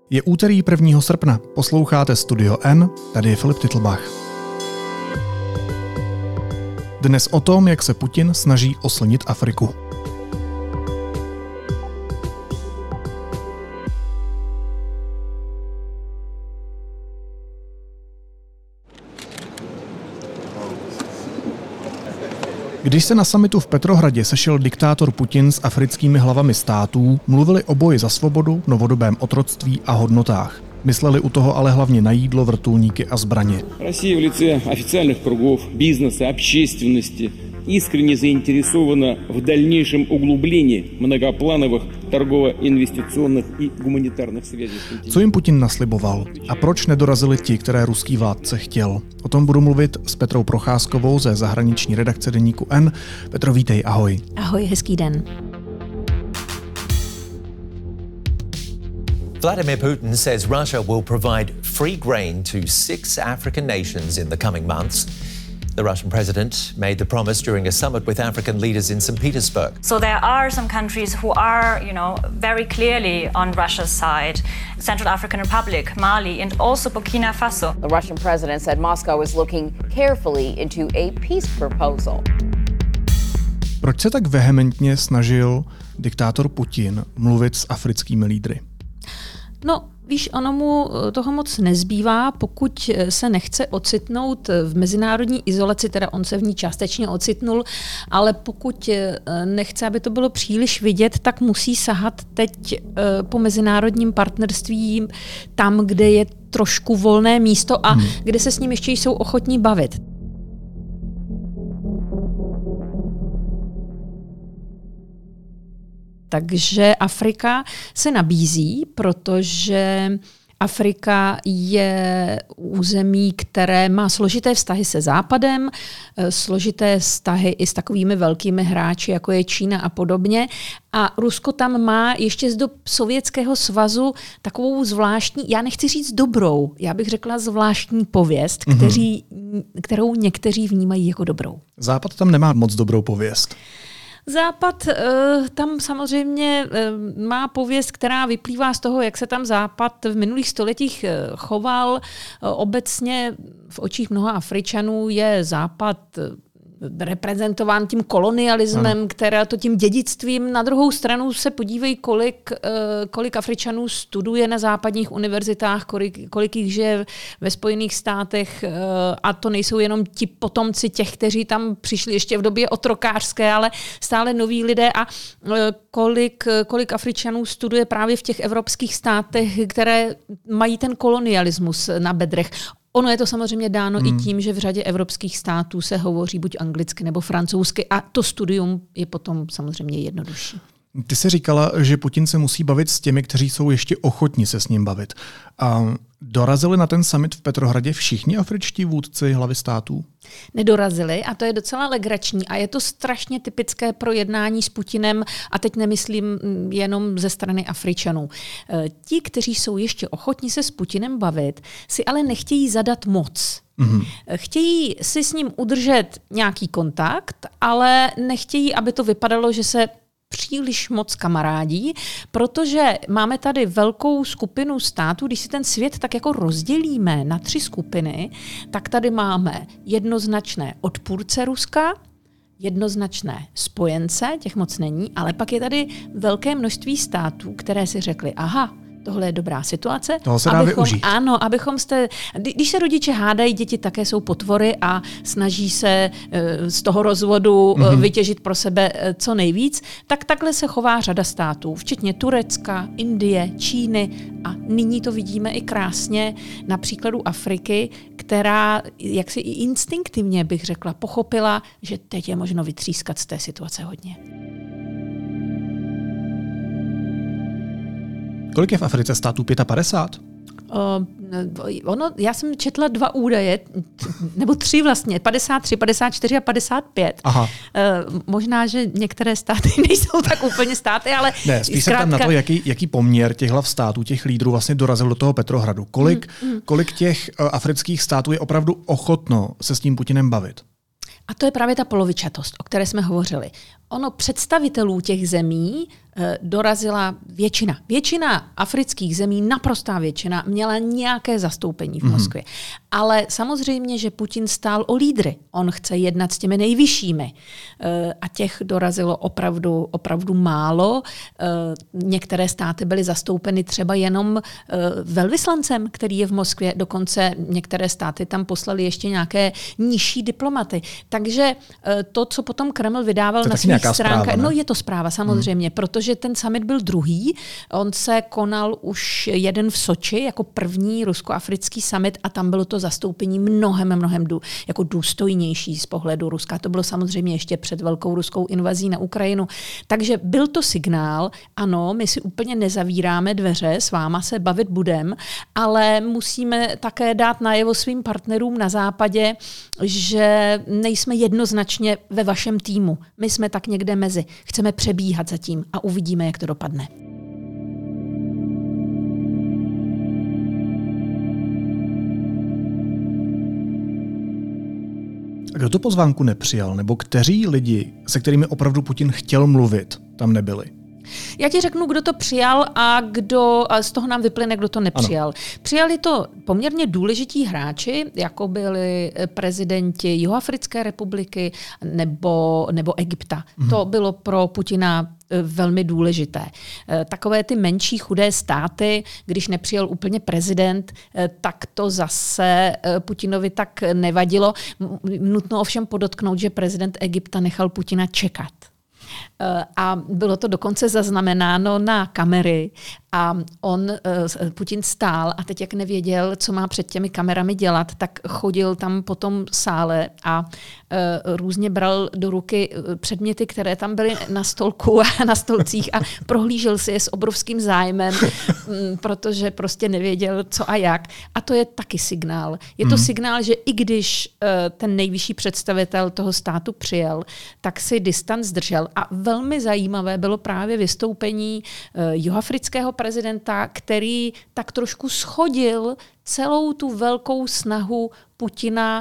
Je úterý 1. srpna, posloucháte Studio N, tady je Filip Titlbach. Dnes o tom, jak se Putin snaží oslnit Afriku. Když se na summitu v Petrohradě sešel diktátor Putin s africkými hlavami států, mluvili o boji za svobodu, novodobém otroctví a hodnotách. Mysleli u toho ale hlavně na jídlo, vrtulníky a zbraně. Россия в лице официальных кругов, бизнеса, общественности искренне заинтересована в дальнейшем углублении многоплановых торгово-инвестиционных и гуманитарных связей. Co jim Putin nasliboval a proč nedorazili ti, které ruský vládce chtěl? O tom budu mluvit s Petrou Procházkovou ze zahraniční redakce deníku N. Petro, vítej, ahoj. Ahoj, hezký den. Vladimir Putin says Russia will provide free grain to 6 African nations in the coming months. The Russian president made the promise during a summit with African leaders in St. Petersburg. So there are some countries who are, very clearly on Russia's side. Central African Republic, Mali, and also Burkina Faso. The Russian president said Moscow is looking carefully into a peace proposal. Proč se tak vehementně snažil diktátor Putin mluvit s africkými lídry? No, víš, ono mu toho moc nezbývá, pokud se nechce ocitnout v mezinárodní izolaci, teda on se v ní částečně ocitnul, ale pokud nechce, aby to bylo příliš vidět, tak musí sahat teď po mezinárodním partnerství tam, kde je trošku volné místo a kde se s ním ještě jsou ochotní bavit. Takže Afrika se nabízí, protože Afrika je území, které má složité vztahy se Západem, složité vztahy i s takovými velkými hráči, jako je Čína a podobně. A Rusko tam má ještě z dob Sovětského svazu takovou zvláštní, já nechci říct dobrou, já bych řekla zvláštní pověst, kterou někteří vnímají jako dobrou. Západ tam nemá moc dobrou pověst. Západ tam samozřejmě má pověst, která vyplývá z toho, jak se tam Západ v minulých stoletích choval. Obecně v očích mnoha Afričanů je Západ reprezentován tím kolonialismem, která to tím dědictvím. Na druhou stranu se podívej, kolik Afričanů studuje na západních univerzitách, kolik jich žije ve Spojených státech a to nejsou jenom ti potomci těch, kteří tam přišli ještě v době otrokářské, ale stále noví lidé a kolik Afričanů studuje právě v těch evropských státech, které mají ten kolonialismus na bedrech. Ono je to samozřejmě dáno i tím, že v řadě evropských států se hovoří buď anglicky nebo francouzsky a to studium je potom samozřejmě jednodušší. Ty jsi říkala, že Putin se musí bavit s těmi, kteří jsou ještě ochotní se s ním bavit. A dorazili na ten summit v Petrohradě všichni afričtí vůdci hlavy států? Nedorazili a to je docela legrační a je to strašně typické pro jednání s Putinem a teď nemyslím jenom ze strany Afričanů. Ti, kteří jsou ještě ochotní se s Putinem bavit, si ale nechtějí zadat moc. Chtějí si s ním udržet nějaký kontakt, ale nechtějí, aby to vypadalo, že se příliš moc kamarádí, protože máme tady velkou skupinu států, když si ten svět tak jako rozdělíme na 3 skupiny, tak tady máme jednoznačné odpůrce Ruska, jednoznačné spojence, těch moc není, ale pak je tady velké množství států, které si řekly, aha, tohle je dobrá situace. Toho se dá využít. Ano, když se rodiče hádají, děti také jsou potvory a snaží se z toho rozvodu vytěžit pro sebe co nejvíc, tak takhle se chová řada států, včetně Turecka, Indie, Číny a nyní to vidíme i krásně na příkladu Afriky, která jaksi i instinktivně, bych řekla, pochopila, že teď je možno vytřískat z té situace hodně. Kolik je v Africe států? 55? Já jsem četla 2 údaje, nebo 3 vlastně, 53, 54 a 55. Aha. Možná, že některé státy nejsou tak úplně státy, ale ne, spíš se tam na to, jaký poměr těch hlav států, těch lídrů vlastně dorazil do toho Petrohradu. Kolik těch afrických států je opravdu ochotno se s tím Putinem bavit? A to je právě ta polovičatost, o které jsme hovořili. Ono představitelů těch zemí dorazila většina. Většina afrických zemí, naprostá většina, měla nějaké zastoupení v Moskvě. Ale samozřejmě, že Putin stál o lídry. On chce jednat s těmi nejvyššími. A těch dorazilo opravdu málo. Některé státy byly zastoupeny třeba jenom velvyslancem, který je v Moskvě. Dokonce některé státy tam poslali ještě nějaké nižší diplomaty. Takže to, co potom Kreml vydával na svých stránkách, no je to zpráva samozřejmě, protože ten summit byl druhý. On se konal už jeden v Soči jako první rusko-africký summit a tam bylo to zastoupení mnohem jako důstojnější z pohledu Ruska. To bylo samozřejmě ještě před velkou ruskou invazí na Ukrajinu. Takže byl to signál, ano, my si úplně nezavíráme dveře, s váma se bavit budem, ale musíme také dát najevo svým partnerům na západě, že nejsme jednoznačně ve vašem týmu. My jsme tak někde mezi. Chceme přebíhat zatím a uvidíme, jak to dopadne. A kdo tu pozvánku nepřijal, nebo kteří lidi, se kterými opravdu Putin chtěl mluvit, tam nebyli? Já ti řeknu, kdo to přijal a z toho nám vyplyne, kdo to nepřijal. Ano. Přijali to poměrně důležití hráči, jako byli prezidenti Jihoafrické republiky nebo Egypta. To bylo pro Putina velmi důležité. Takové ty menší chudé státy, když nepřijel úplně prezident, tak to zase Putinovi tak nevadilo. Nutno ovšem podotknout, že prezident Egypta nechal Putina čekat. A bylo to dokonce zaznamenáno na kamery a Putin stál a teď jak nevěděl, co má před těmi kamerami dělat, tak chodil tam po tom sále a různě bral do ruky předměty, které tam byly na stolku a na stolcích a prohlížel si je s obrovským zájmem, protože prostě nevěděl, co a jak. A to je taky signál. Je to signál, že i když ten nejvyšší představitel toho státu přijel, tak si distanc držel. A velmi zajímavé bylo právě vystoupení jihoafrického prezidenta, který tak trošku shodil celou tu velkou snahu Putina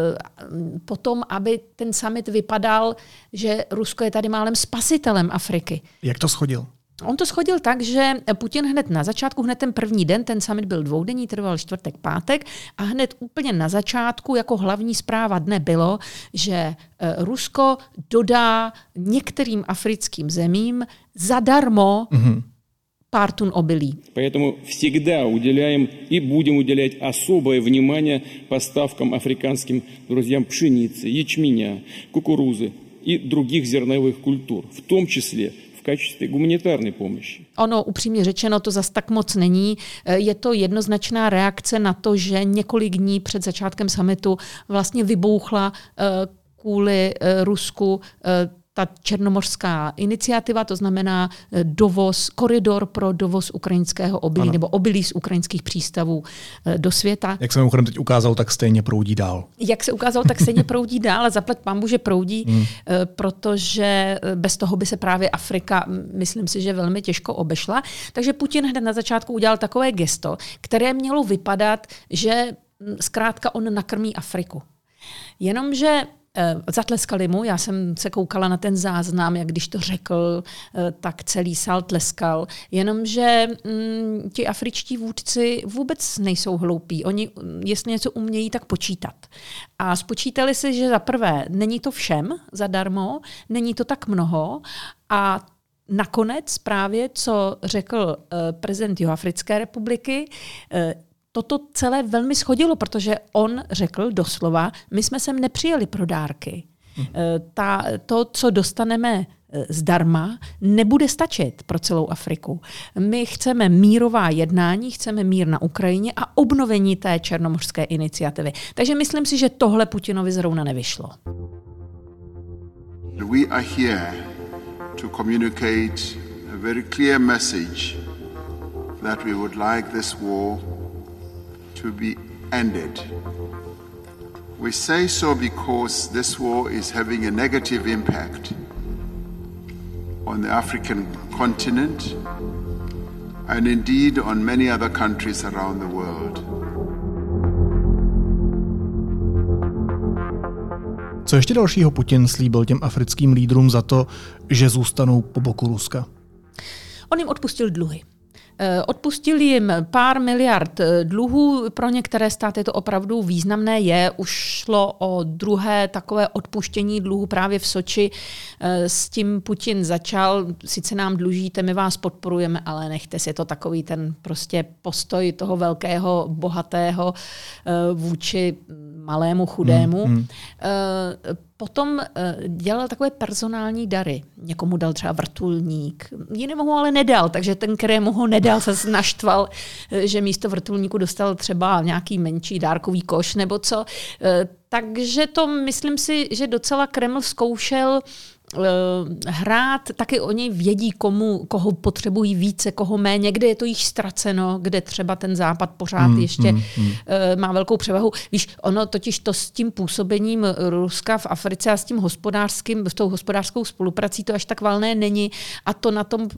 potom, aby ten summit vypadal, že Rusko je tady málem spasitelem Afriky. Jak to shodil? On to shodil tak, že Putin hned na začátku, hned ten první den, ten summit byl dvoudenní, trval čtvrtek, pátek a hned úplně na začátku jako hlavní zpráva dne bylo, že Rusko dodá některým africkým zemím zadarmo pár tun obilí. Поэтому всегда уделяем и будем уделять особое внимание поставкам африканским друзьям пшеницы, ячменя, кукурузы и других зерновых культур, в том числе в качестве гуманитарной помощи. Ono, upřímně řečeno, to zas tak moc není. Je to jednoznačná reakce na to, že několik dní před začátkem summitu vlastně vybouchla kvůli Rusku ta černomořská iniciativa, to znamená koridor pro dovoz ukrajinského obilí, nebo obilí z ukrajinských přístavů do světa. Jak se mimochodem teď ukázalo, tak stejně proudí dál. Jak se ukázalo, tak stejně proudí dál a zaplať pánbůh, že proudí, protože bez toho by se právě Afrika, myslím si, že velmi těžko obešla. Takže Putin hned na začátku udělal takové gesto, které mělo vypadat, že zkrátka on nakrmí Afriku. Jenomže zatleskali mu, já jsem se koukala na ten záznam, jak když to řekl, tak celý sál tleskal, jenomže ti afričtí vůdci vůbec nejsou hloupí. Oni, jestli něco umějí, tak počítat. A spočítali si, že za prvé není to všem zadarmo, není to tak mnoho a nakonec právě, co řekl prezident Jihoafrické republiky, toto celé velmi shodilo, protože on řekl doslova, my jsme sem nepřijeli pro dárky. To, co dostaneme zdarma, nebude stačit pro celou Afriku. My chceme mírová jednání, chceme mír na Ukrajině a obnovení té černomořské iniciativy. Takže myslím si, že tohle Putinovi zrovna nevyšlo. We are here to communicate a very clear message that we would like this war to be ended. We say so because this war is having a negative impact on the African continent and indeed on many other countries around the world. Co ještě dalšího Putin slíbil těm africkým lídrům za to, že zůstanou po boku Ruska? On jim odpustil dluhy. Odpustil jim pár miliard dluhů, pro některé státy to opravdu významné je. Už šlo o druhé takové odpuštění dluhů právě v Soči. S tím Putin začal, sice nám dlužíte, my vás podporujeme, ale nechte si, je to takový ten prostě postoj toho velkého, bohatého vůči malému, chudému. Potom dělal takové personální dary. Někomu dal třeba vrtulník, jinému ho ale nedal, takže ten, kterému ho nedal, se naštval, že místo vrtulníku dostal třeba nějaký menší dárkový koš nebo co. Takže to myslím si, že docela Kreml zkoušel hrát, taky oni vědí, koho potřebují více, koho méně, kde je to již ztraceno, kde třeba ten Západ pořád ještě má velkou převahu. Víš, ono totiž to s tím působením Ruska v Africe a s tou hospodářskou spoluprací to až tak valné není a to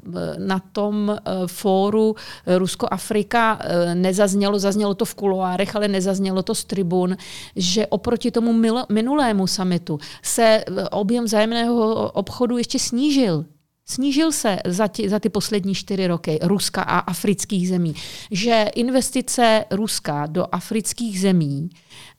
na tom fóru Rusko-Afrika zaznělo to v kuloárech, ale nezaznělo to z tribun, že oproti tomu minulému summitu se objem vzájemného obchodu ještě snížil. Snížil se za ty poslední 4 roky Ruska a afrických zemí. Že investice Ruska do afrických zemí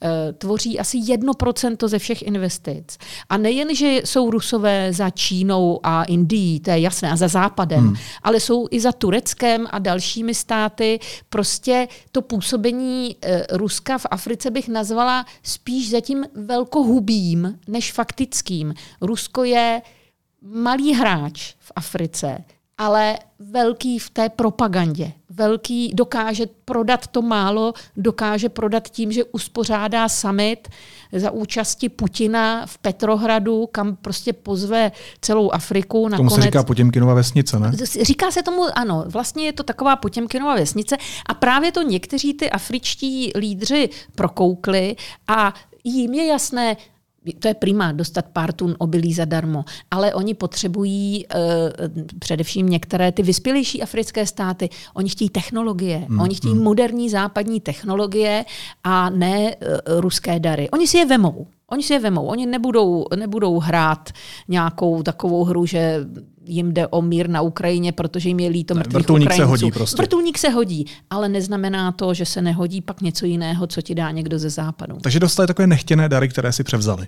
tvoří asi 1% ze všech investic. A nejen, že jsou Rusové za Čínou a Indií, to je jasné, a za Západem, ale jsou i za Tureckem a dalšími státy. Prostě to působení Ruska v Africe bych nazvala spíš zatím velkohubým než faktickým. Rusko je malý hráč v Africe, ale velký v té propagandě. Velký, dokáže prodat to málo, dokáže prodat tím, že uspořádá summit za účasti Putina v Petrohradu, kam prostě pozve celou Afriku. Tomu se říká Potěmkinova vesnice, ne? Říká se tomu, ano, vlastně je to taková Potěmkinova vesnice a právě to někteří ty afričtí lídři prokoukli a jim je jasné, to je prima, dostat pár tun obilí zadarmo, ale oni potřebují především některé ty vyspělejší africké státy, oni chtějí technologie, oni chtějí moderní západní technologie a ne ruské dary. Oni si je vemou. Oni nebudou hrát nějakou takovou hru, že jim jde o mír na Ukrajině, protože jim je líto mrtvých Ukrajinců. Se hodí prostě. Vrtulník se hodí, ale neznamená to, že se nehodí pak něco jiného, co ti dá někdo ze západu. Takže dostali takové nechtěné dary, které si převzali.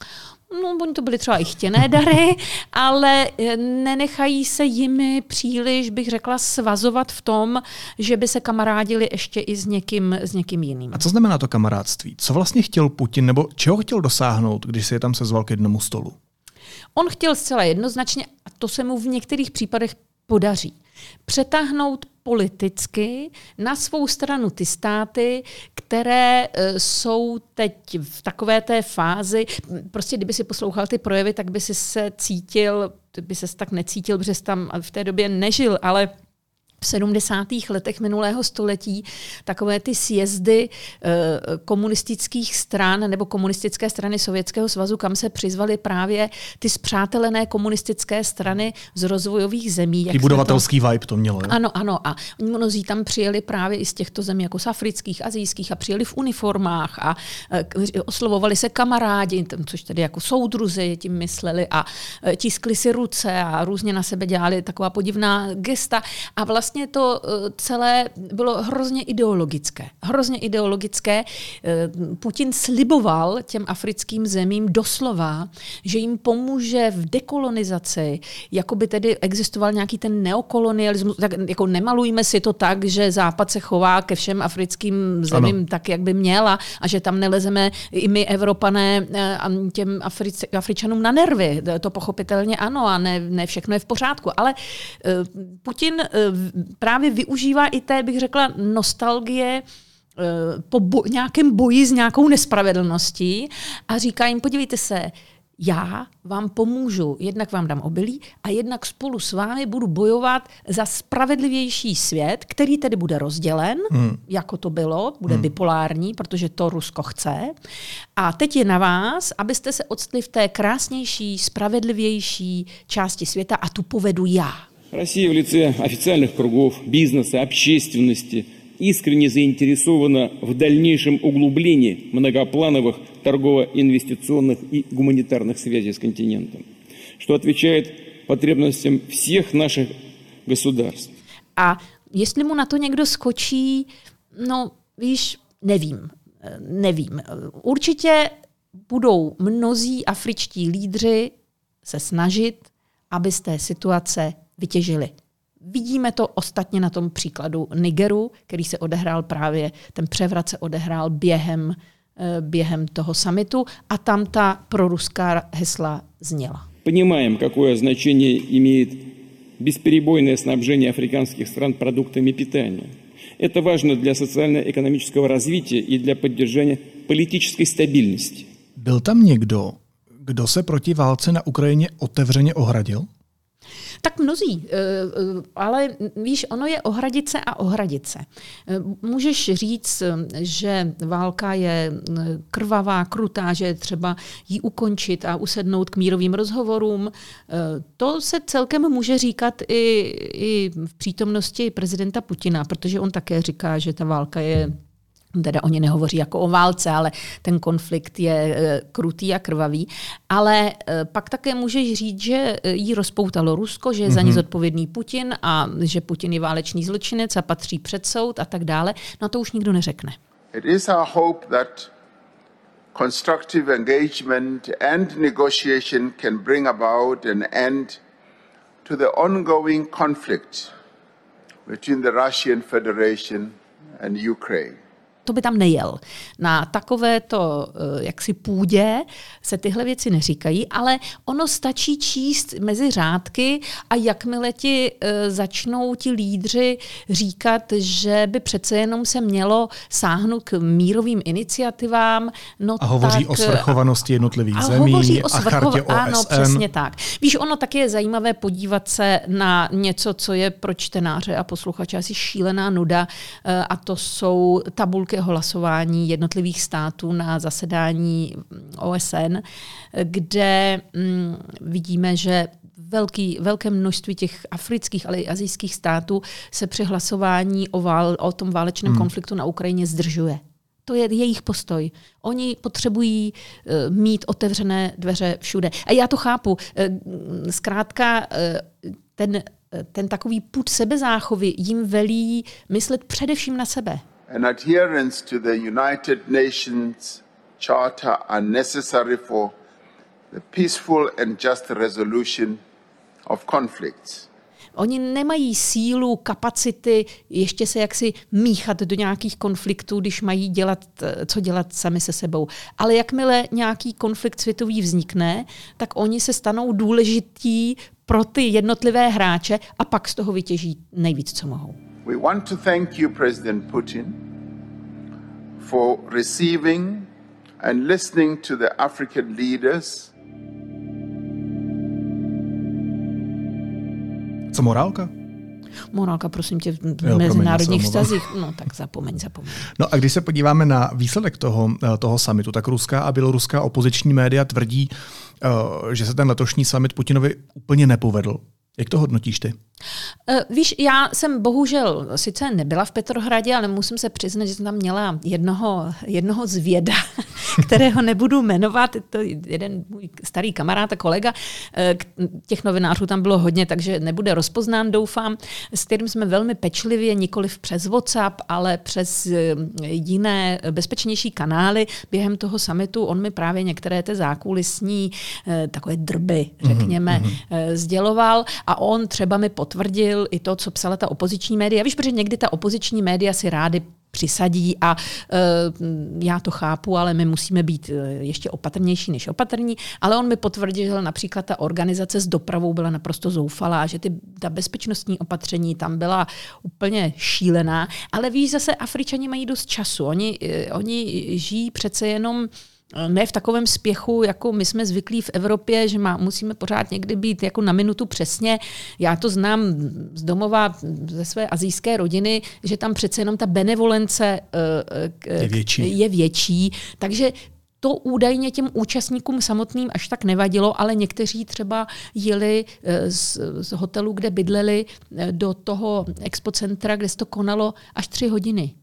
No, oni to byly třeba i chtěné dary, ale nenechají se jimi příliš, bych řekla, svazovat v tom, že by se kamarádili ještě i s někým jiným. A co znamená to kamarádství? Co vlastně chtěl Putin, nebo čeho chtěl dosáhnout, když se je tam sezval k jednomu stolu? On chtěl zcela jednoznačně, a to se mu v některých případech podaří, přetáhnout politicky na svou stranu ty státy, které jsou teď v takové té fázi, prostě kdyby si poslouchal ty projevy, tak by si se tak necítil, protože jsi tam v té době nežil, ale v 70. letech minulého století takové ty sjezdy komunistických stran nebo komunistické strany Sovětského svazu, kam se přizvali právě ty spřátelené komunistické strany z rozvojových zemí. Ty budovatelský vibe to mělo. Jo? Ano. A mnozí tam přijeli právě i z těchto zemí, jako z afrických, asijských a přijeli v uniformách a oslovovali se kamarádi, což tedy jako soudruzi tím mysleli a tiskli si ruce a různě na sebe dělali taková podivná gesta a vlastně to celé bylo hrozně ideologické. Putin sliboval těm africkým zemím doslova, že jim pomůže v dekolonizaci, jako by tedy existoval nějaký ten neokolonialismus. Tak jako nemalujme si to tak, že Západ se chová ke všem africkým zemím tak, jak by měla a že tam nelezeme i my, Evropané, těm Afričanům na nervy. To pochopitelně ano a ne všechno je v pořádku. Ale Putin právě využívá i té, bych řekla, nostalgie po nějakém boji s nějakou nespravedlností a říká jim, podívejte se, já vám pomůžu, jednak vám dám obilí a jednak spolu s vámi budu bojovat za spravedlivější svět, který tedy bude rozdělen, jako to bylo, bude bipolární, protože to Rusko chce. A teď je na vás, abyste se odstli v té krásnější, spravedlivější části světa a tu povedu já. Россия в лице официальных кругов бизнеса, общественности искренне заинтересована в дальнейшем углублении многоплановых торгово-инвестиционных и гуманитарных связей с континентом, что отвечает потребностям всех našich государств. A jestli mu na to někdo skočí, no víš, nevím. Určitě budou mnozí afričtí lídři se snažit, aby z té situace vytěžili. Vidíme to ostatně na tom příkladu Nigeru, který se odehrál právě, ten převrat se odehrál během toho summitu a tam ta proruská hesla zněla. Понимаем, какое значение имеет бесперебойное снабжение африканских стран продуктами питания. Это важно для социально-экономического развития и для поддержания политической стабильности. Byl tam někdo, kdo se proti válce na Ukrajině otevřeně ohradil? Tak mnozí, ale víš, ono je ohradit se a ohradit se. Můžeš říct, že válka je krvavá, krutá, že je třeba ji ukončit a usednout k mírovým rozhovorům. To se celkem může říkat i v přítomnosti prezidenta Putina, protože on také říká, že ta válka je, teda oni nehovoří jako o válce, ale ten konflikt je krutý a krvavý. Ale pak také můžeš říct, že jí rozpoutalo Rusko, že je za ní zodpovědný Putin a že Putin je válečný zločinec a patří před soud a tak dále. No to už nikdo neřekne. It is our hope that constructive engagement and negotiation can bring about an end to the ongoing conflict between the Russian Federation and Ukraine. To by tam nejel. Na takovéto jaksi půdě se tyhle věci neříkají, ale ono stačí číst mezi řádky a jakmile ti začnou ti lídři říkat, že by přece jenom se mělo sáhnout k mírovým iniciativám. No a hovoří o svrchovanosti jednotlivých zemí a chartě OSN. Ano, přesně tak. Víš, ono taky je zajímavé podívat se na něco, co je pro čtenáře a posluchače asi šílená nuda, a to jsou tabulky hlasování jednotlivých států na zasedání OSN, kde vidíme, že velké množství těch afrických, ale i asijských států se při hlasování o tom válečném konfliktu na Ukrajině zdržuje. To je jejich postoj. Oni potřebují mít otevřené dveře všude. A já to chápu. Zkrátka ten takový pud sebezáchovy jim velí myslet především na sebe. And adherence to the United Nations Charter are necessary for the peaceful and just resolution of conflicts. Oni nemají sílu, kapacity ještě se jaksi míchat do nějakých konfliktů, když mají co dělat sami se sebou. Ale jakmile nějaký konflikt světový vznikne, tak oni se stanou důležití pro ty jednotlivé hráče a pak z toho vytěží nejvíc, co mohou. We want to thank you, President Putin, for receiving and listening to the African leaders. Co morálka? Morálka, prosím tě, v mezinárodních vztazích. No tak zapomeň. No a když se podíváme na výsledek toho summitu, tak ruská a běloruská opoziční média tvrdí, že se ten letošní summit Putinovi úplně nepovedl. Jak to hodnotíš ty? Víš, já jsem bohužel sice nebyla v Petrohradě, ale musím se přiznat, že jsem tam měla jednoho zvěda, kterého nebudu jmenovat. To je jeden můj starý kamarád a kolega. Těch novinářů tam bylo hodně, takže nebude rozpoznán, doufám, s kterým jsme velmi pečlivě, nikoliv přes WhatsApp, ale přes jiné bezpečnější kanály během toho summitu. On mi právě některé ty zákulisní takové drby, řekněme, sděloval a on třeba mi potvrdil i to, co psala ta opoziční média. Víš, protože někdy ta opoziční média si rády přisadí a já to chápu, ale my musíme být ještě opatrnější než opatrní. Ale on mi potvrdil, že například ta organizace s dopravou byla naprosto zoufalá, že ta bezpečnostní opatření tam byla úplně šílená. Ale víš, zase Afričani mají dost času. Oni žijí přece jenom ne v takovém spěchu, jako my jsme zvyklí v Evropě, že musíme pořád někdy být jako na minutu přesně. Já to znám z domova, ze své asijské rodiny, že tam přece jenom ta benevolence je větší. Takže to údajně těm účastníkům samotným až tak nevadilo, ale někteří třeba jeli z hotelu, kde bydleli, do toho expocentra, kde se to konalo až 3 hodiny.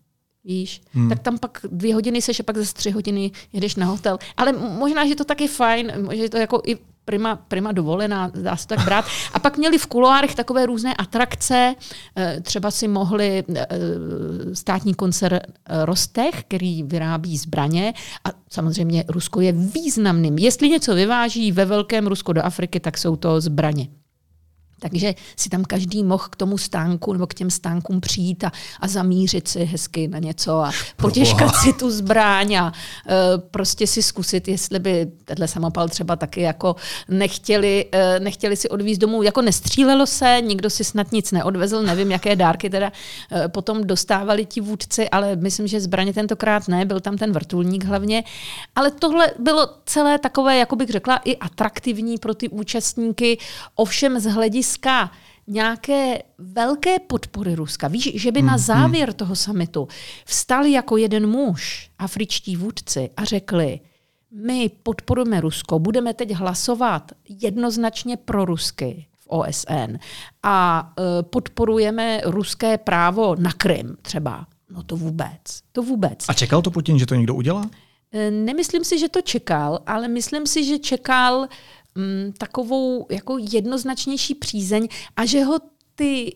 víš, tak tam pak 2 hodiny seš a pak zase 3 hodiny jedeš na hotel. Ale možná, že to taky fajn, že to jako i prima dovolená, dá se tak brát. A pak měli v kuloárech takové různé atrakce, třeba si mohli státní koncern Rostech, který vyrábí zbraně a samozřejmě Rusko je významným. Jestli něco vyváží ve velkém Rusko do Afriky, tak jsou to zbraně. Takže si tam každý mohl k tomu stánku nebo k těm stánkům přijít a zamířit si hezky na něco a potěškat si tu zbraň a prostě si zkusit, jestli by tenhle samopal třeba taky jako nechtěli si odvízt domů. Jako nestřílelo se, nikdo si snad nic neodvezl, nevím, jaké dárky teda potom dostávali ti vůdci, ale myslím, že zbraně tentokrát ne, byl tam ten vrtulník hlavně. Ale tohle bylo celé takové, jako bych řekla, i atraktivní pro ty účastníky, ovšem z hlediska nějaké velké podpory Ruska. Víš, že by na závěr toho summitu vstali jako jeden muž afričtí vůdci a řekli, my podporujeme Rusko, budeme teď hlasovat jednoznačně pro rusky v OSN a podporujeme ruské právo na Krym třeba. No to vůbec. A čekal to Putin, že to někdo udělá? Nemyslím si, že to čekal, ale myslím si, že čekal takovou jako jednoznačnější přízeň a že ho ty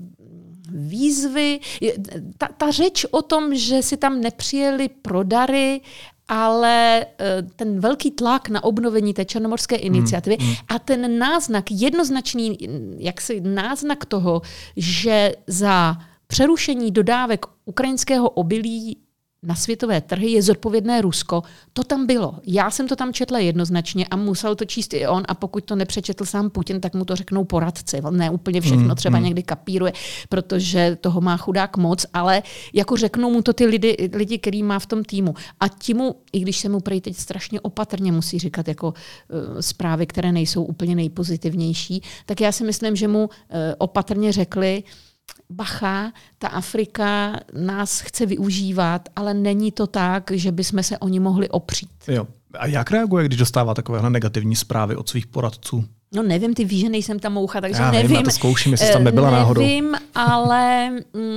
výzvy, ta řeč o tom, že si tam nepřijeli pro dary, ale ten velký tlak na obnovení té černomorské iniciativy a ten náznak, jednoznačný jaksi náznak toho, že za přerušení dodávek ukrajinského obilí na světové trhy je zodpovědné Rusko. To tam bylo. Já jsem to tam četla jednoznačně a musel to číst i on a pokud to nepřečetl sám Putin, tak mu to řeknou poradci. On ne úplně všechno třeba někdy kapíruje, protože toho má chudák moc, ale jako řeknou mu to ty lidi, který má v tom týmu. A timu, i když se mu prej teď strašně opatrně musí říkat jako zprávy, které nejsou úplně nejpozitivnější, tak já si myslím, že mu opatrně řekli, bacha, ta Afrika nás chce využívat, ale není to tak, že bychom se o ní mohli opřít. Jo. A jak reaguje, když dostává takovéhle negativní zprávy od svých poradců? No nevím, ty víš, že nejsem tam moucha, takže já nevím. Já to zkouším, jestli tam nebyla náhodou. Nevím, ale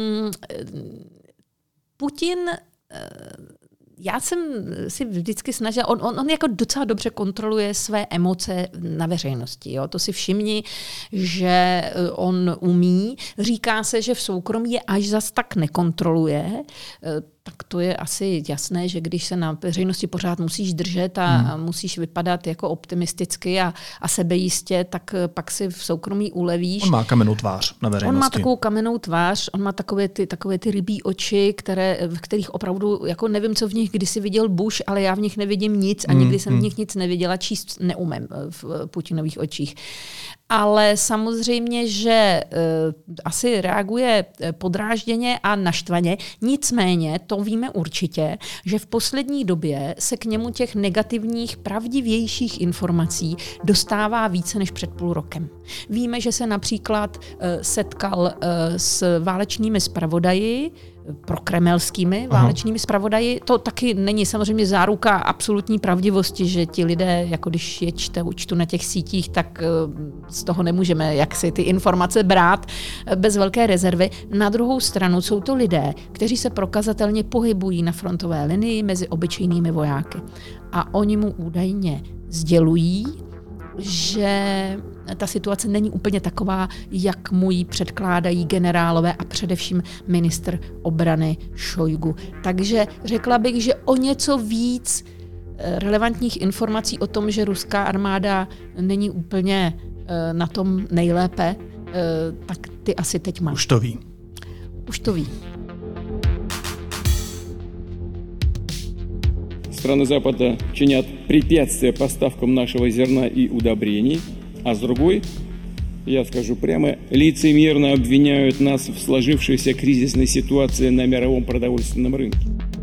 Putin... Já jsem si vždycky snažila, on jako docela dobře kontroluje své emoce na veřejnosti. Jo? To si všimni, že on umí. Říká se, že v soukromí je až zas tak nekontroluje. Tak to je asi jasné, že když se na veřejnosti pořád musíš držet a musíš vypadat jako optimisticky a sebejistě, tak pak si v soukromí ulevíš. On má kamennou tvář na veřejnosti. On má takovou kamennou tvář, on má takové ty rybí oči, v kterých opravdu, jako nevím, co v nich kdysi viděl Bush, ale já v nich nevidím nic a nikdy jsem v nich nic neviděla, číst neumím v Putinových očích. Ale samozřejmě, že asi reaguje podrážděně a naštvaně. Nicméně, to víme určitě, že v poslední době se k němu těch negativních, pravdivějších informací dostává více než před půl rokem. Víme, že se například setkal s válečnými zpravodaji, prokremelskými válečnými zpravodaji. To taky není samozřejmě záruka absolutní pravdivosti, že ti lidé, jako když je čtu na těch sítích, tak z toho nemůžeme jaksi ty informace brát bez velké rezervy. Na druhou stranu jsou to lidé, kteří se prokazatelně pohybují na frontové linii mezi obyčejnými vojáky. A oni mu údajně sdělují, že ta situace není úplně taková, jak mu ji předkládají generálové a především ministr obrany Šojgu. Takže řekla bych, že o něco víc relevantních informací o tom, že ruská armáda není úplně na tom nejlépe, tak ty asi teď máš. Už to ví. Už to ví. Страны Запада чинят препятствия поставкам нашего зерна и удобрений, а с другой, я скажу прямо, лицемерно обвиняют нас в сложившейся кризисной ситуации на мировом продовольственном рынке.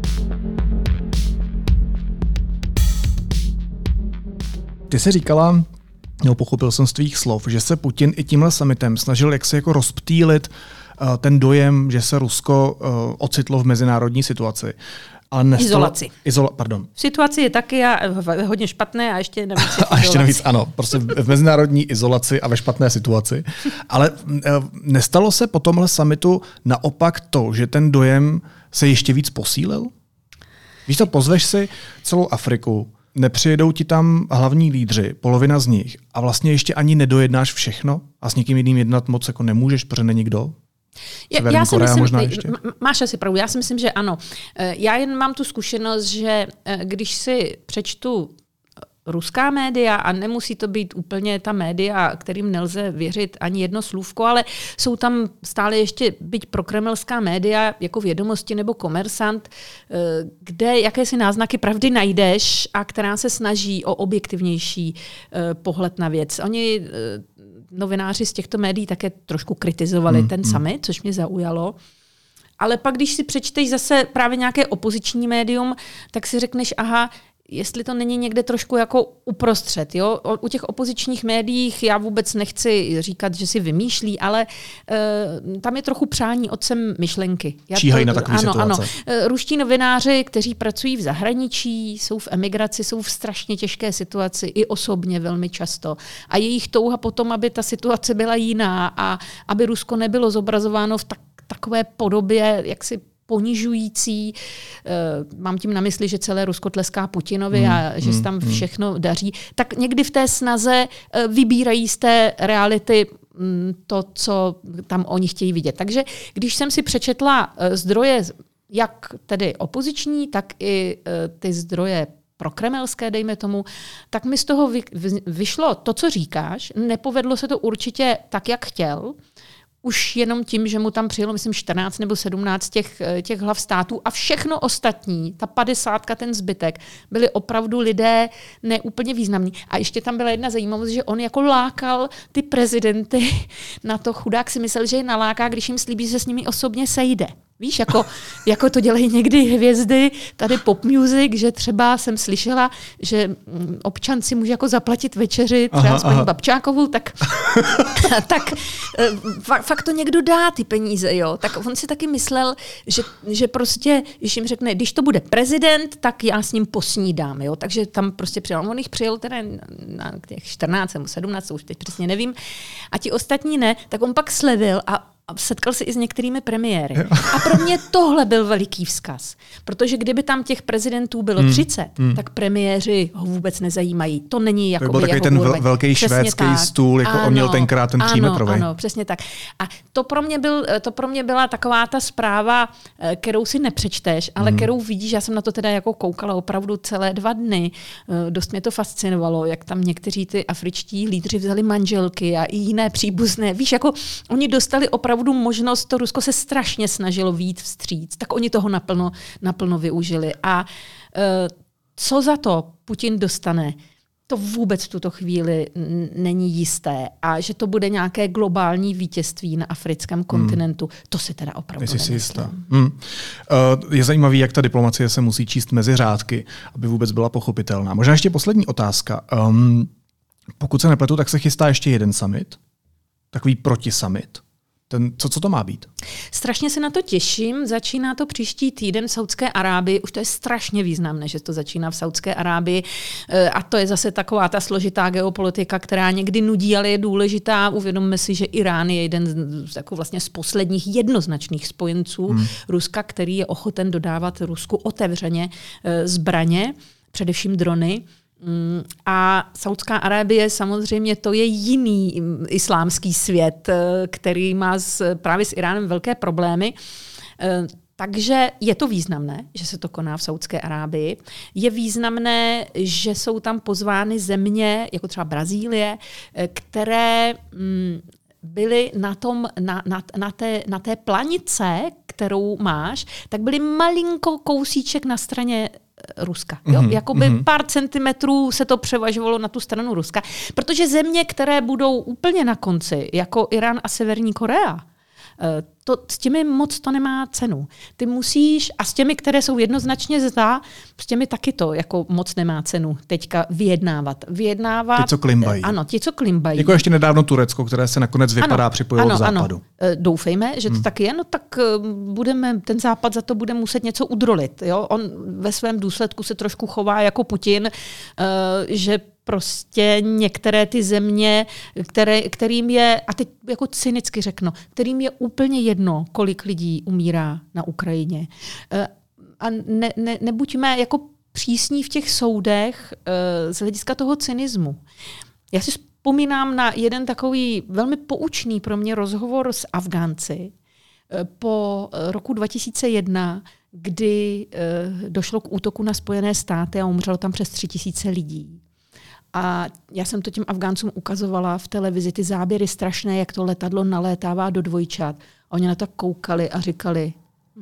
Ty jsi říkala, pochopil jsem z tvých slov, že se Putin i tímhle summitem snažil jaksi jako rozptýlit ten dojem, že se Rusko ocitlo v mezinárodní situaci. Ale izolaci. Pardon. Situace je taky hodně špatné a ještě navíc a ještě navíc, ano, prostě v mezinárodní izolaci a ve špatné situaci. Ale nestalo se po tomhle summitu naopak to, že ten dojem se ještě víc posílil? Víš to, pozveš si celou Afriku, nepřijedou ti tam hlavní lídři, polovina z nich, a vlastně ještě ani nedojednáš všechno a s někým jiným jednat moc jako nemůžeš, protože není kdo? Já si myslím, máš asi pravdu, já si myslím, že ano. Já jen mám tu zkušenost, že když si přečtu ruská média, a nemusí to být úplně ta média, kterým nelze věřit ani jedno slůvko, ale jsou tam stále ještě byť prokremelská média, jako Vědomosti nebo Komersant, kde jakési náznaky pravdy najdeš a která se snaží o objektivnější pohled na věc. Oni, novináři z těchto médií, také trošku kritizovali ten summit, což mě zaujalo. Ale pak, když si přečteš zase právě nějaké opoziční médium, tak si řekneš, aha, jestli to není někde trošku jako uprostřed. Jo? U těch opozičních médiích já vůbec nechci říkat, že si vymýšlí, ale tam je trochu přání otcem myšlenky. Číhají na takové situace. Ano. Ruští novináři, kteří pracují v zahraničí, jsou v emigraci, jsou v strašně těžké situaci, i osobně velmi často. A jejich touha potom, aby ta situace byla jiná a aby Rusko nebylo zobrazováno v takové podobě, jaksi ponižující. Mám tím na mysli, že celé Rusko tleská Putinovi a že se tam všechno daří. Tak někdy v té snaze vybírají z té reality to, co tam oni chtějí vidět. Takže když jsem si přečetla zdroje, jak tedy opoziční, tak i ty zdroje prokremelské, dejme tomu, tak mi z toho vyšlo to, co říkáš. Nepovedlo se to určitě tak, jak chtěl. Už jenom tím, že mu tam přijelo, myslím, 14 nebo 17 těch hlav států a všechno ostatní, ta 50, ten zbytek, byli opravdu lidé neúplně významní. A ještě tam byla jedna zajímavost, že on jako lákal ty prezidenty na to, chudák si myslel, že je naláká, když jim slíbí, že se s nimi osobně sejde. Víš, jako to dělají někdy hvězdy, tady pop music, že třeba jsem slyšela, že občan si může jako zaplatit večeři třeba s paní Babčákovou, tak fakt to někdo dá ty peníze, jo. Tak on si taky myslel, že prostě, když jim řekne, když to bude prezident, tak já s ním posnídám, jo. Takže tam prostě přijel. On jich přijel teda na těch 14 nebo 17, už teď přesně nevím, a ti ostatní ne, tak on pak slevil a setkal se i s některými premiéry. A pro mě tohle byl veliký vzkaz. Protože kdyby tam těch prezidentů bylo 30, tak premiéři ho vůbec nezajímají. To není jako by takový ten velký švédský stůl, jako on měl tenkrát ten přímetrový. Ano, přesně tak. A to pro mě byla taková ta zpráva, kterou si nepřečteš, ale kterou vidíš. Já jsem na to teda jako koukala opravdu celé 2 dny. Dost mě to fascinovalo, jak tam někteří ty afričtí lídři vzali manželky a i jiné příbuzné. Víš, jako oni dostali opravdu možnost, to Rusko se strašně snažilo vyjít vstříc, tak oni toho naplno využili. A co za to Putin dostane, to vůbec v tuto chvíli není jisté. A že to bude nějaké globální vítězství na africkém kontinentu, to si teda opravdu nemyslím. Je zajímavý, jak ta diplomacie se musí číst mezi řádky, aby vůbec byla pochopitelná. Možná ještě poslední otázka. Pokud se nepletu, tak se chystá ještě jeden summit, takový protisummit. Co to má být? Strašně se na to těším. Začíná to příští týden v Saudské Arábii. Už to je strašně významné, že to začíná v Saudské Arábii. A to je zase taková ta složitá geopolitika, která někdy nudí, ale je důležitá. Uvědomme si, že Irán je jeden z posledních jednoznačných spojenců Ruska, který je ochoten dodávat Rusku otevřeně zbraně, především drony. A Saudská Arábie samozřejmě to je jiný islámský svět, který má právě s Iránem velké problémy. Takže je to významné, že se to koná v Saudské Arábii. Je významné, že jsou tam pozvány země, jako třeba Brazílie, které byly na té planice, kterou máš, tak byly malinko kousíček na straně Ruska. Jo? Jakoby pár centimetrů se to převažovalo na tu stranu Ruska. Protože země, které budou úplně na konci, jako Irán a Severní Korea, S těmi moc to nemá cenu. Ty musíš, a s těmi, které jsou jednoznačně za, s těmi taky to jako moc nemá cenu teďka vyjednávat. Ti, co klimbají. Ano, ti, co klimbají. Jako ještě nedávno Turecko, které se nakonec vypadá připojilo k západu. Ano. Doufejme, že to taky je, no tak ten západ za to bude muset něco udrolit. Jo? On ve svém důsledku se trošku chová jako Putin, že prostě některé ty země, kterým je, a teď jako cynicky řeknu, kterým je úplně jedno, kolik lidí umírá na Ukrajině. A nebuďme jako přísní v těch soudech z hlediska toho cynismu. Já si vzpomínám na jeden takový velmi poučný pro mě rozhovor s Afgánci po roku 2001, kdy došlo k útoku na Spojené státy a umřelo tam přes 3000 lidí. A já jsem to těm Afgáncům ukazovala v televizi, ty záběry strašné, jak to letadlo nalétává do dvojčat. Oni na to koukali a říkali,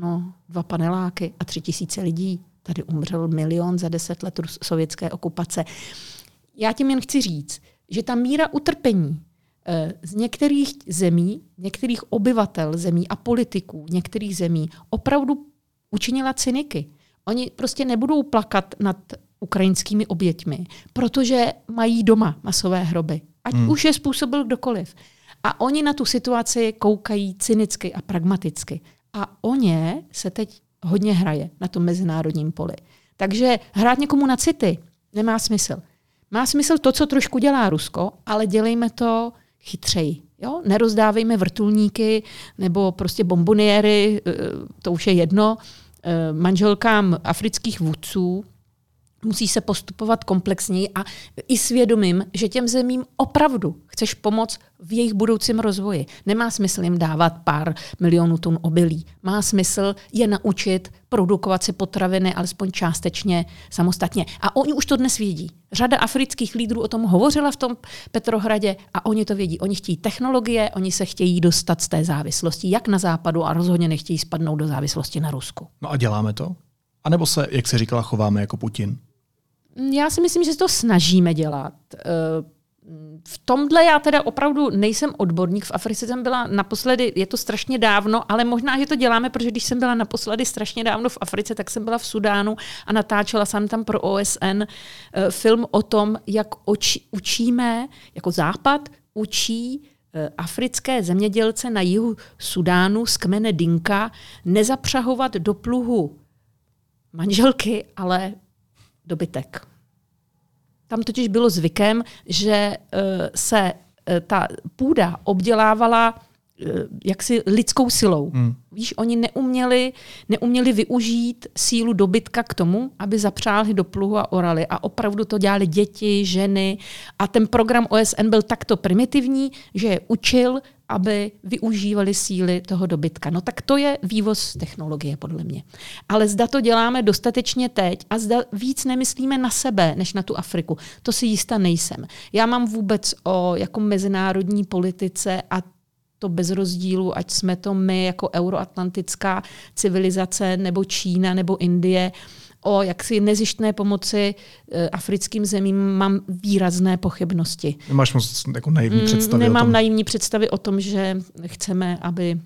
2 paneláky a 3000 lidí. Tady umřel 1 milion za 10 let sovětské okupace. Já tím jen chci říct, že ta míra utrpení z některých zemí, některých obyvatel zemí a politiků některých zemí opravdu učinila cyniky. Oni prostě nebudou plakat nad ukrajinskými oběťmi, protože mají doma masové hroby. Ať už je způsobil kdokoliv. A oni na tu situaci koukají cynicky a pragmaticky. A o ně se teď hodně hraje na tom mezinárodním poli. Takže hrát někomu na city nemá smysl. Má smysl to, co trošku dělá Rusko, ale dělejme to chytřeji. Jo? Nerozdávejme vrtulníky nebo prostě bomboniéry, to už je jedno, manželkám afrických vůdců. Musí se postupovat komplexněji a i svědomím, že těm zemím opravdu chceš pomoct v jejich budoucím rozvoji. Nemá smysl jim dávat pár milionů tun obilí. Má smysl je naučit produkovat si potraviny alespoň částečně samostatně. A oni už to dnes vědí. Řada afrických lídrů o tom hovořila v tom Petrohradě a oni to vědí. Oni chtějí technologie, oni se chtějí dostat z té závislosti jak na západu a rozhodně nechtějí spadnout do závislosti na Rusku. No a děláme to? A nebo se, jak se říkala, chováme jako Putin? Já si myslím, že se to snažíme dělat. V tomhle já teda opravdu nejsem odborník. V Africe jsem byla naposledy, je to strašně dávno, ale možná, že to děláme, protože když jsem byla naposledy strašně dávno v Africe, tak jsem byla v Sudánu a natáčela jsem tam pro OSN film o tom, jak učíme, jako Západ učí africké zemědělce na jihu Sudánu z kmene Dinka nezapřahovat do pluhu manželky, ale dobytek. Tam totiž bylo zvykem, že se ta půda obdělávala jaksi lidskou silou. Víš, oni neuměli využít sílu dobytka k tomu, aby zapřáhli do pluhu a orali. A opravdu to dělali děti, ženy. A ten program OSN byl takto primitivní, že je učil, aby využívali síly toho dobytka. No tak to je vývoz technologie, podle mě. Ale zda to děláme dostatečně teď a zda víc nemyslíme na sebe, než na tu Afriku. To si jistá nejsem. Já mám vůbec o jako mezinárodní politice a to bez rozdílu, ať jsme to my jako euroatlantická civilizace, nebo Čína, nebo Indie, o jaksi nezištné pomoci africkým zemím mám výrazné pochybnosti. Nemáš moc jako naivní představy Nemám o tom? naivní představy o tom, že chceme, aby...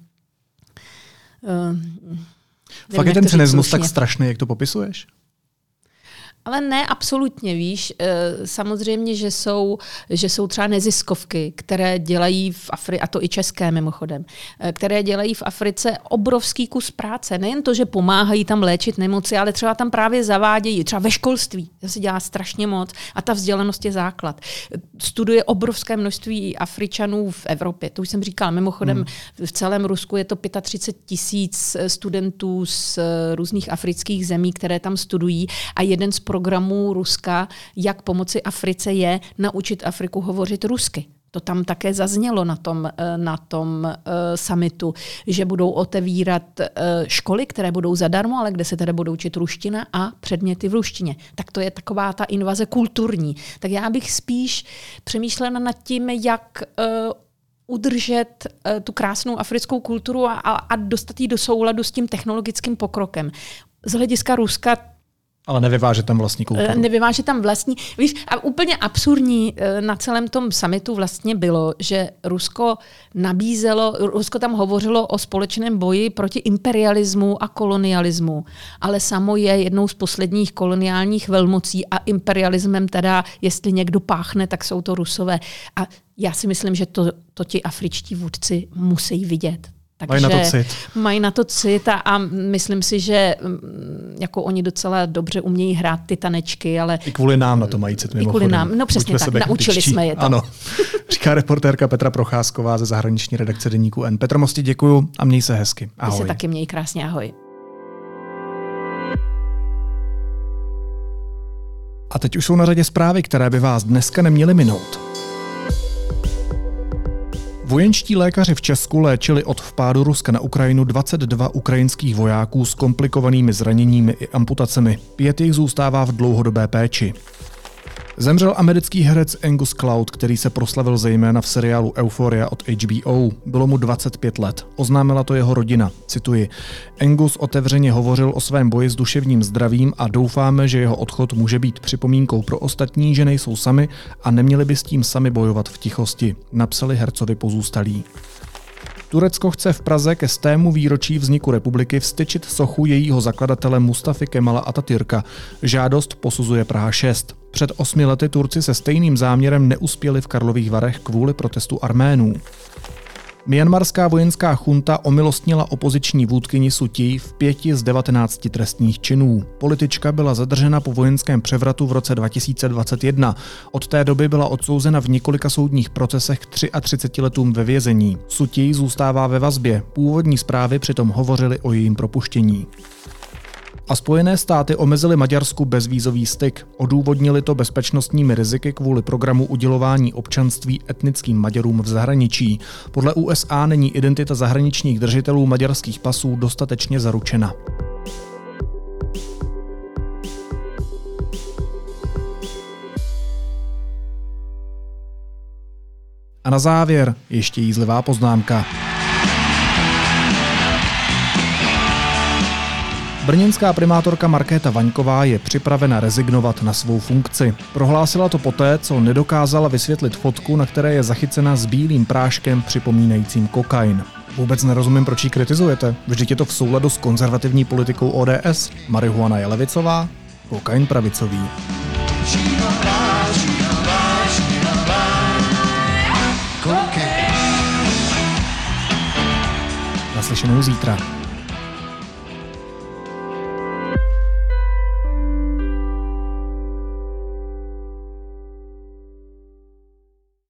Fakt je ten cynismus tak strašný, jak to popisuješ? Ale ne absolutně, víš. Samozřejmě, že jsou třeba neziskovky, které dělají v Africe, a to i české mimochodem, které dělají v Africe obrovský kus práce. Nejen to, že pomáhají tam léčit nemoci, ale třeba tam právě zavádějí, třeba ve školství, to se dělá strašně moc a ta vzdělanost je základ. Studuje obrovské množství Afričanů v Evropě, to už jsem říkala. Mimochodem v celém Rusku je to 35 000 studentů z různých afrických zemí, které tam studují a jeden z programů Ruska, jak pomoci Africe, je naučit Afriku hovořit rusky. To tam také zaznělo na tom summitu, že budou otevírat školy, které budou zadarmo, ale kde se teda budou učit ruština a předměty v ruštině. Tak to je taková ta invaze kulturní. Tak já bych spíš přemýšlela nad tím, jak udržet tu krásnou africkou kulturu a dostat ji do souladu s tím technologickým pokrokem. Z hlediska Ruska Ale nevyváže tam vlastní kulturu. Nevyváže tam vlastní. Víš, a úplně absurdní na celém tom summitu vlastně bylo, že Rusko tam hovořilo o společném boji proti imperialismu a kolonialismu, ale samo je jednou z posledních koloniálních velmocí a imperialismem teda, jestli někdo páchne, tak jsou to Rusové. A já si myslím, že to ti afričtí vůdci musí vidět. Takže mají na to cit a myslím si, že jako oni docela dobře umějí hrát ty tanečky, ale... I kvůli nám na to mají cit mimochodem. I kvůli nám, no přesně tak, naučili jsme je to. Ano, říká reportérka Petra Procházková ze zahraniční redakce deníku N. Petro, moc ti děkuju a měj se hezky. Ahoj. Ty se taky měj krásně, ahoj. A teď už jsou na řadě zprávy, které by vás dneska neměly minout. Vojenští lékaři v Česku léčili od vpádu Ruska na Ukrajinu 22 ukrajinských vojáků s komplikovanými zraněními i amputacemi. 5 jich zůstává v dlouhodobé péči. Zemřel americký herec Angus Cloud, který se proslavil zejména v seriálu Euphoria od HBO. Bylo mu 25 let. Oznámila to jeho rodina. Cituji. Angus otevřeně hovořil o svém boji s duševním zdravím a doufáme, že jeho odchod může být připomínkou pro ostatní, že nejsou sami a neměli by s tím sami bojovat v tichosti, napsali hercovi pozůstalí. Turecko chce v Praze ke 100. výročí vzniku republiky vztyčit sochu jejího zakladatele Mustafy Kemala Atatürka. Žádost posuzuje Praha 6. Před 8 lety Turci se stejným záměrem neuspěli v Karlových Varech kvůli protestu Arménů. Myanmarská vojenská chunta omilostnila opoziční vůdkyni Suu Kyi v 5 z 19 trestních činů. Politička byla zadržena po vojenském převratu v roce 2021. Od té doby byla odsouzena v několika soudních procesech k 33 letům ve vězení. Suu Kyi zůstává ve vazbě. Původní zprávy přitom hovořily o jejím propuštění. A Spojené státy omezily Maďarsku bezvízový styk. Odůvodnili to bezpečnostními riziky kvůli programu udělování občanství etnickým Maďarům v zahraničí. Podle USA není identita zahraničních držitelů maďarských pasů dostatečně zaručena. A na závěr ještě jízlivá poznámka. Brněnská primátorka Markéta Vaňková je připravena rezignovat na svou funkci. Prohlásila to poté, co nedokázala vysvětlit fotku, na které je zachycena s bílým práškem připomínajícím kokain. Vůbec nerozumím, proč ji kritizujete. Vždyť je to v souladu s konzervativní politikou ODS. Marihuana je levicová, kokain pravicový. Naslyšenou zítra.